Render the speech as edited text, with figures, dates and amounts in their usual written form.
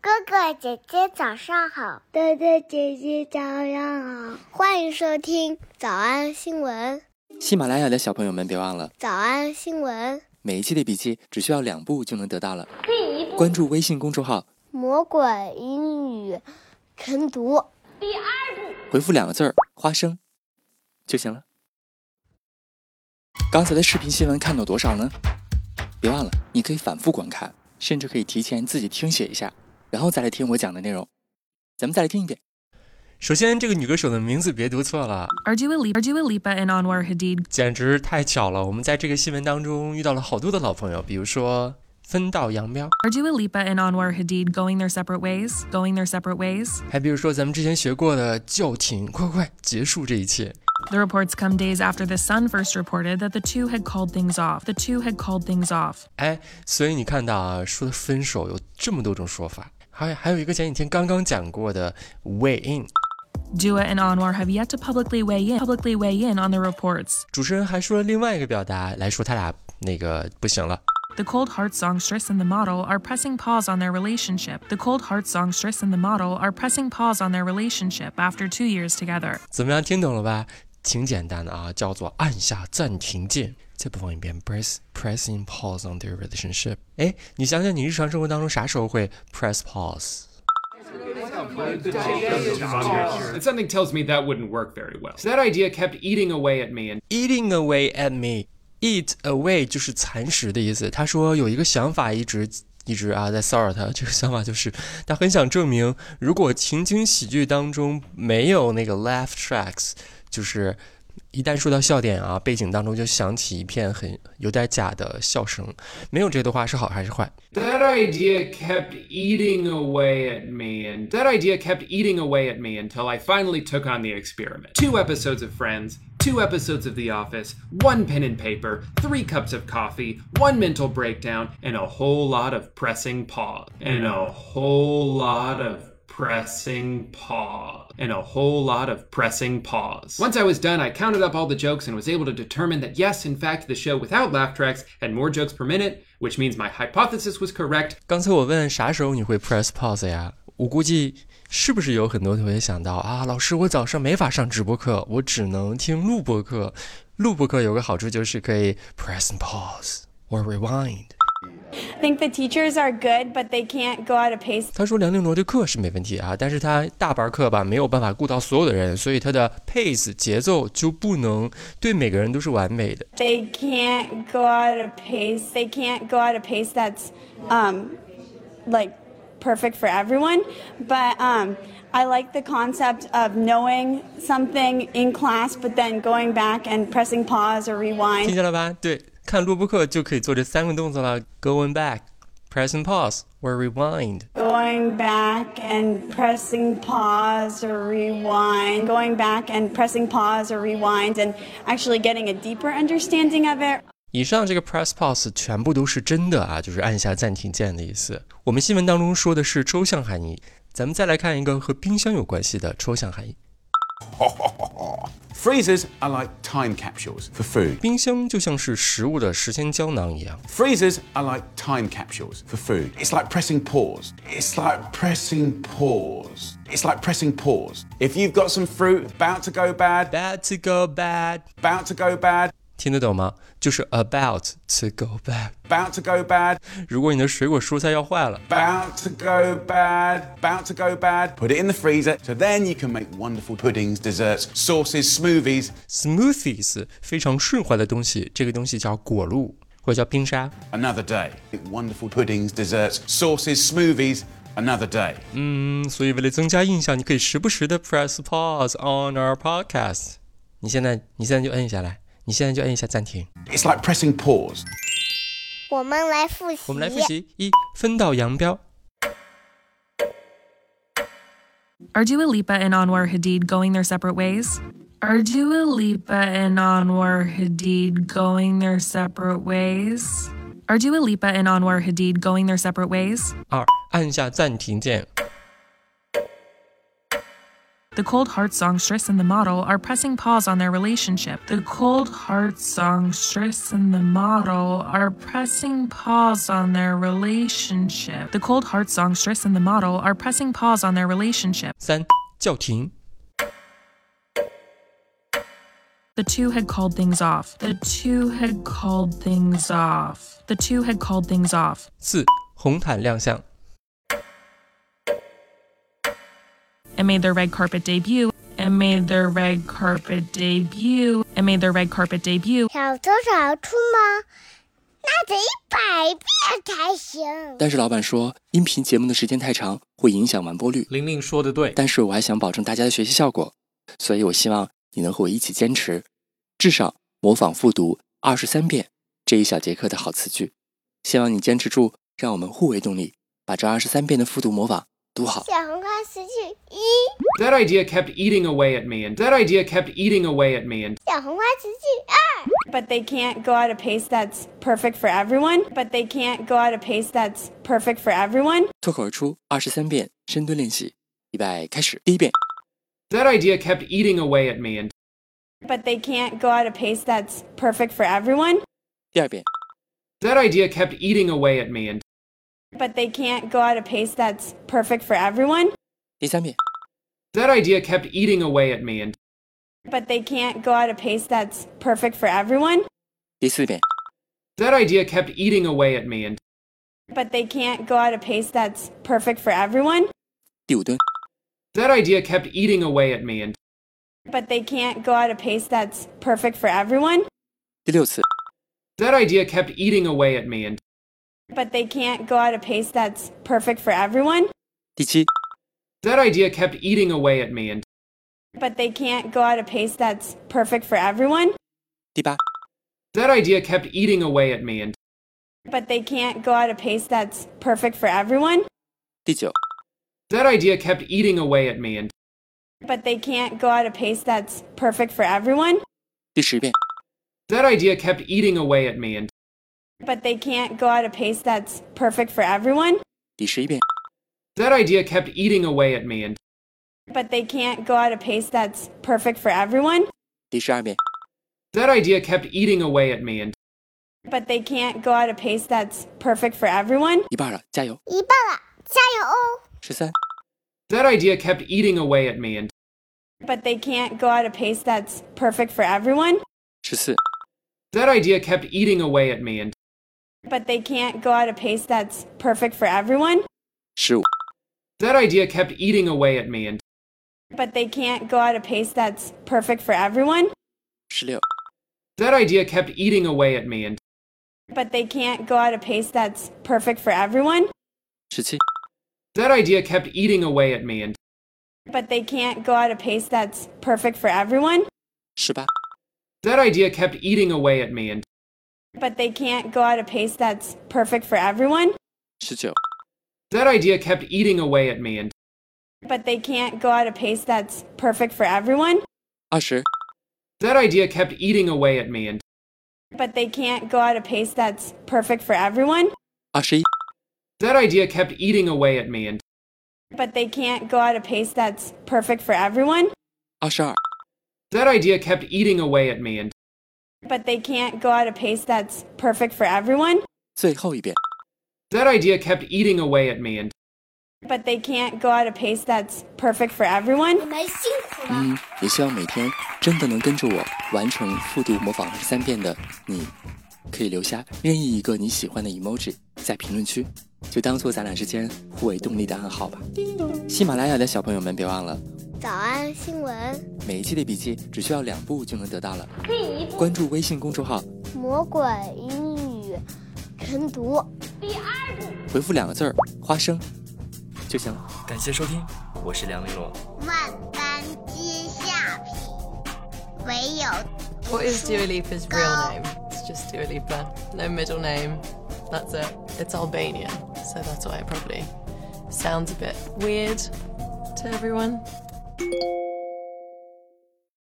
哥哥姐姐早上好， 哥哥姐姐早上好， 欢迎收听早安新闻。 喜马拉雅的小朋友们别忘了早安新闻， 每一期的笔记只需要2步就能得到了。第1步，关注微信公众号魔鬼英语晨读。 第2步， 回复2个字花生就行了。刚才的视频新闻看到多少呢？别忘了你可以反复观看，甚至可以提前自己听写一下，然后再来听我讲的内容。咱们再来听一遍。 首先，这个女歌手的名字别读错了 Dua Lipa and Anwar Hadid， 简直太巧了。我们在这个新闻当中遇到了好多的老朋友，比如说分道扬镳 Dua Lipa and Anwar Hadid going their separate ways， 还比如说咱们之前学过的叫停，快结束这一切。 The reports come days after The Sun first reported that the two had called things off. 所以你看到啊，说的分手有这么多种说法，还有一个前几天刚刚讲过的 weigh in。Dua and Anwar have yet to publicly weigh in on the reports. 主持人还说了另外一个表达来说他俩那个不行了。 The Cold Heart songstress and the model are pressing pause on their relationship. After 2 years together. 怎么样，听懂了吧？挺简单的啊，叫做按下暂停键。再播放一遍 pressing pause on their relationship。你想想你日常生活当中啥时候会 press pause？ Something tells me that wouldn't work very well. So that idea kept eating away at me. And eating away at me. Eat away 就是蚕食的意思。他说有一个想法一直在骚扰他，这个想法就是他很想证明，如果情景喜剧当中没有那个 laugh tracks， 就是一旦说到笑点啊，背景当中就响起一片很有点假的笑声，没有这的话是好还是坏？ That idea kept eating away at me, and that idea kept eating away at me until I finally took on the experiment. 2 episodes of Friends, 2 episodes of The Office, 1 pen and paper, 3 cups of coffee, 1 mental breakdown, and a whole lot of pressing pause. And a whole lot of pressing pause. Once I was done, I counted up all the jokes and was able to determine that yes, in fact, the show without laugh tracks had more jokes per minute, which means my hypothesis was correct. 刚才我问啥时候你会 press pause 呀？我估计是不是有很多同学想到啊，老师我早上没法上直播课，我只能听录播课。录播课有个好处就是可以 press and pause or rewind。I think the teachers are good, but they can't go at a pace. 他说梁丽罗的课是没问题啊，但是他大班课吧没有办法顾到所有的人，所以他的 pace 节奏就不能对每个人都是完美的。 They can't go at a pace. They can't go at a pace that's like perfect for everyone. But I like the concept of knowing something in class, but then going back and pressing pause or rewind. 听见了吧？对。看录播课就可以做这3个动作了 Going back, pressing pause, or rewind. Going back and pressing pause or rewind. Going back and pressing pause or rewind and actually getting a deeper understanding of it. 以上这个 press pause 全部都是真的啊，就是按下暂停键的意思。我们新闻当中说的是抽象含义，咱们再来看一个和冰箱有关系的抽象含义。 Freezers are like time capsules for food. 冰箱就像是食物的时间胶囊一样。 Freezers are like time capsules for food. It's like pressing pause. It's like pressing pause. It's like pressing pause. If you've got some fruit about to go bad, about to go bad, about to go bad. 听得懂吗？就是 about to go bad. About to go bad. 如果你的水果蔬菜要坏了 About to go bad. About to go bad. Put it in the freezer. So then you can make wonderful puddings, desserts, sauces, smoothies. Smoothies 非常顺滑的东西，这个东西叫果露或者叫冰沙。 Another day. Wonderful puddings, desserts, sauces, smoothies. Another day. 所以为了增加印象，你可以时不时的 press pause on our podcast. 你现在就摁下来。你现在就按一下暂停。 It's like pressing pause. 我们来复习。 1. 分道扬镳。 Are Dua Lipa and Anwar Hadid going their separate ways? Are Dua Lipa and Anwar Hadid going their separate ways? Are Dua Lipa and Anwar Hadid going their separate ways? 2. 按下暂停键。 The cold heart songstress and the model are pressing pause on their relationship. The cold heart songstress and the model are pressing pause on their relationship. The cold heart songstress and the model are pressing pause on their relationship. 3. 叫停 The two had called things off. The two had called things off. The two had called things off. 4. 红毯亮相 And made their red carpet debut. And made their red carpet debut. And made their red carpet debut. 小偷小出吗？那得100遍才行。 但是老板说，音频节目的时间太长，会影响完播率。 玲玲说的对， 但是我还想保证大家的学习效果，所以我希望你能和我一起坚持，至少模仿复读23遍这一小节课的好词句。希望你坚持住，让我们互为动力，把这23遍的复读模仿读好。 小红花词句1， That idea kept eating away at me, and that idea kept eating away at me, and 小红花词句2。 But they can't go at a pace that's perfect for everyone. But they can't go at a pace that's perfect for everyone. 脱口而出23遍深蹲练习，预备开始。第一遍 that idea kept eating away at me, and But they can't go at a pace that's perfect for everyone. 第二遍 that idea kept eating away at me, and But they can't go at a pace that's perfect for everyone. 第三遍 that idea kept eating away at me, and But they can't go at a pace that's perfect for everyone. 第四遍 that idea kept eating away at me, and But they can't go at a pace that's perfect for everyone. 第五蹲 that idea kept eating away at me, and But they can't go at a pace that's perfect for everyone. 第六次 that idea kept eating away at me, and But they can't go at a pace that's perfect for everyone. 第七 that idea kept eating away at me, and But they can't go at a pace that's perfect for everyone. 第八 that idea kept eating away at me, and But they can't go at a pace that's perfect for everyone. 第九 that idea kept eating away at me, and But they can't go at a pace that's perfect for everyone. 第十遍 that idea kept eating away at me, and But they can't go at a pace that's perfect for everyone. 第11遍 that idea kept eating away at me, and But they can't go at a pace that's perfect for everyone. 第12遍 that idea kept eating away at me, and But they can't go at a pace that's perfect for everyone. 一半了，加油！ 一半了，加油哦 13 that idea kept eating away at me, and But they can't go at a pace that's perfect for everyone. 14 that idea kept eating away at me, and But they can't go at a pace that's perfect for everyone. 15 that idea kept eating away at me, and But they can't go at a pace that's perfect for everyone. 16 that idea kept eating away at me, and But they can't go at a pace that's perfect for everyone. 17 that idea kept eating away at me, and But they can't go at a pace that's perfect for everyone. 18 that idea kept eating away at me, and But they can't go at a pace that's perfect for everyone. 19 that idea kept eating away at me, and But they can't go at a pace that's perfect for everyone. 20 that idea kept eating away at me, and But they can't go at a pace that's perfect for everyone. 21 that idea kept eating away at me, and But they can't go at a pace that's perfect for everyone. 22 that idea kept eating away at me, and But they can't go at a pace that's perfect for everyone. 最后一遍 that idea kept eating away at me, and But they can't go at a pace that's perfect for everyone. 你们辛苦了。 也希望每天真的能跟着我完成复读模仿23遍的你，可以留下任意一个你喜欢的 emoji 在评论区，就当做咱俩之间互为动力的暗号吧。喜马拉雅的小朋友们别忘了， 早安新闻， 每一期的笔记只需要2步就能得到了。 第一步， 关注微信公众号魔鬼英语晨读。 第二步， 回复2个字花生就行了。感谢收听，我是梁玲珑。 万般皆下品，唯有 What is Dua Lipa's real name? It's just Dua Lipa. No middle name. That's it. It's Albanian, so that's why it probably sounds a bit weird to everyone.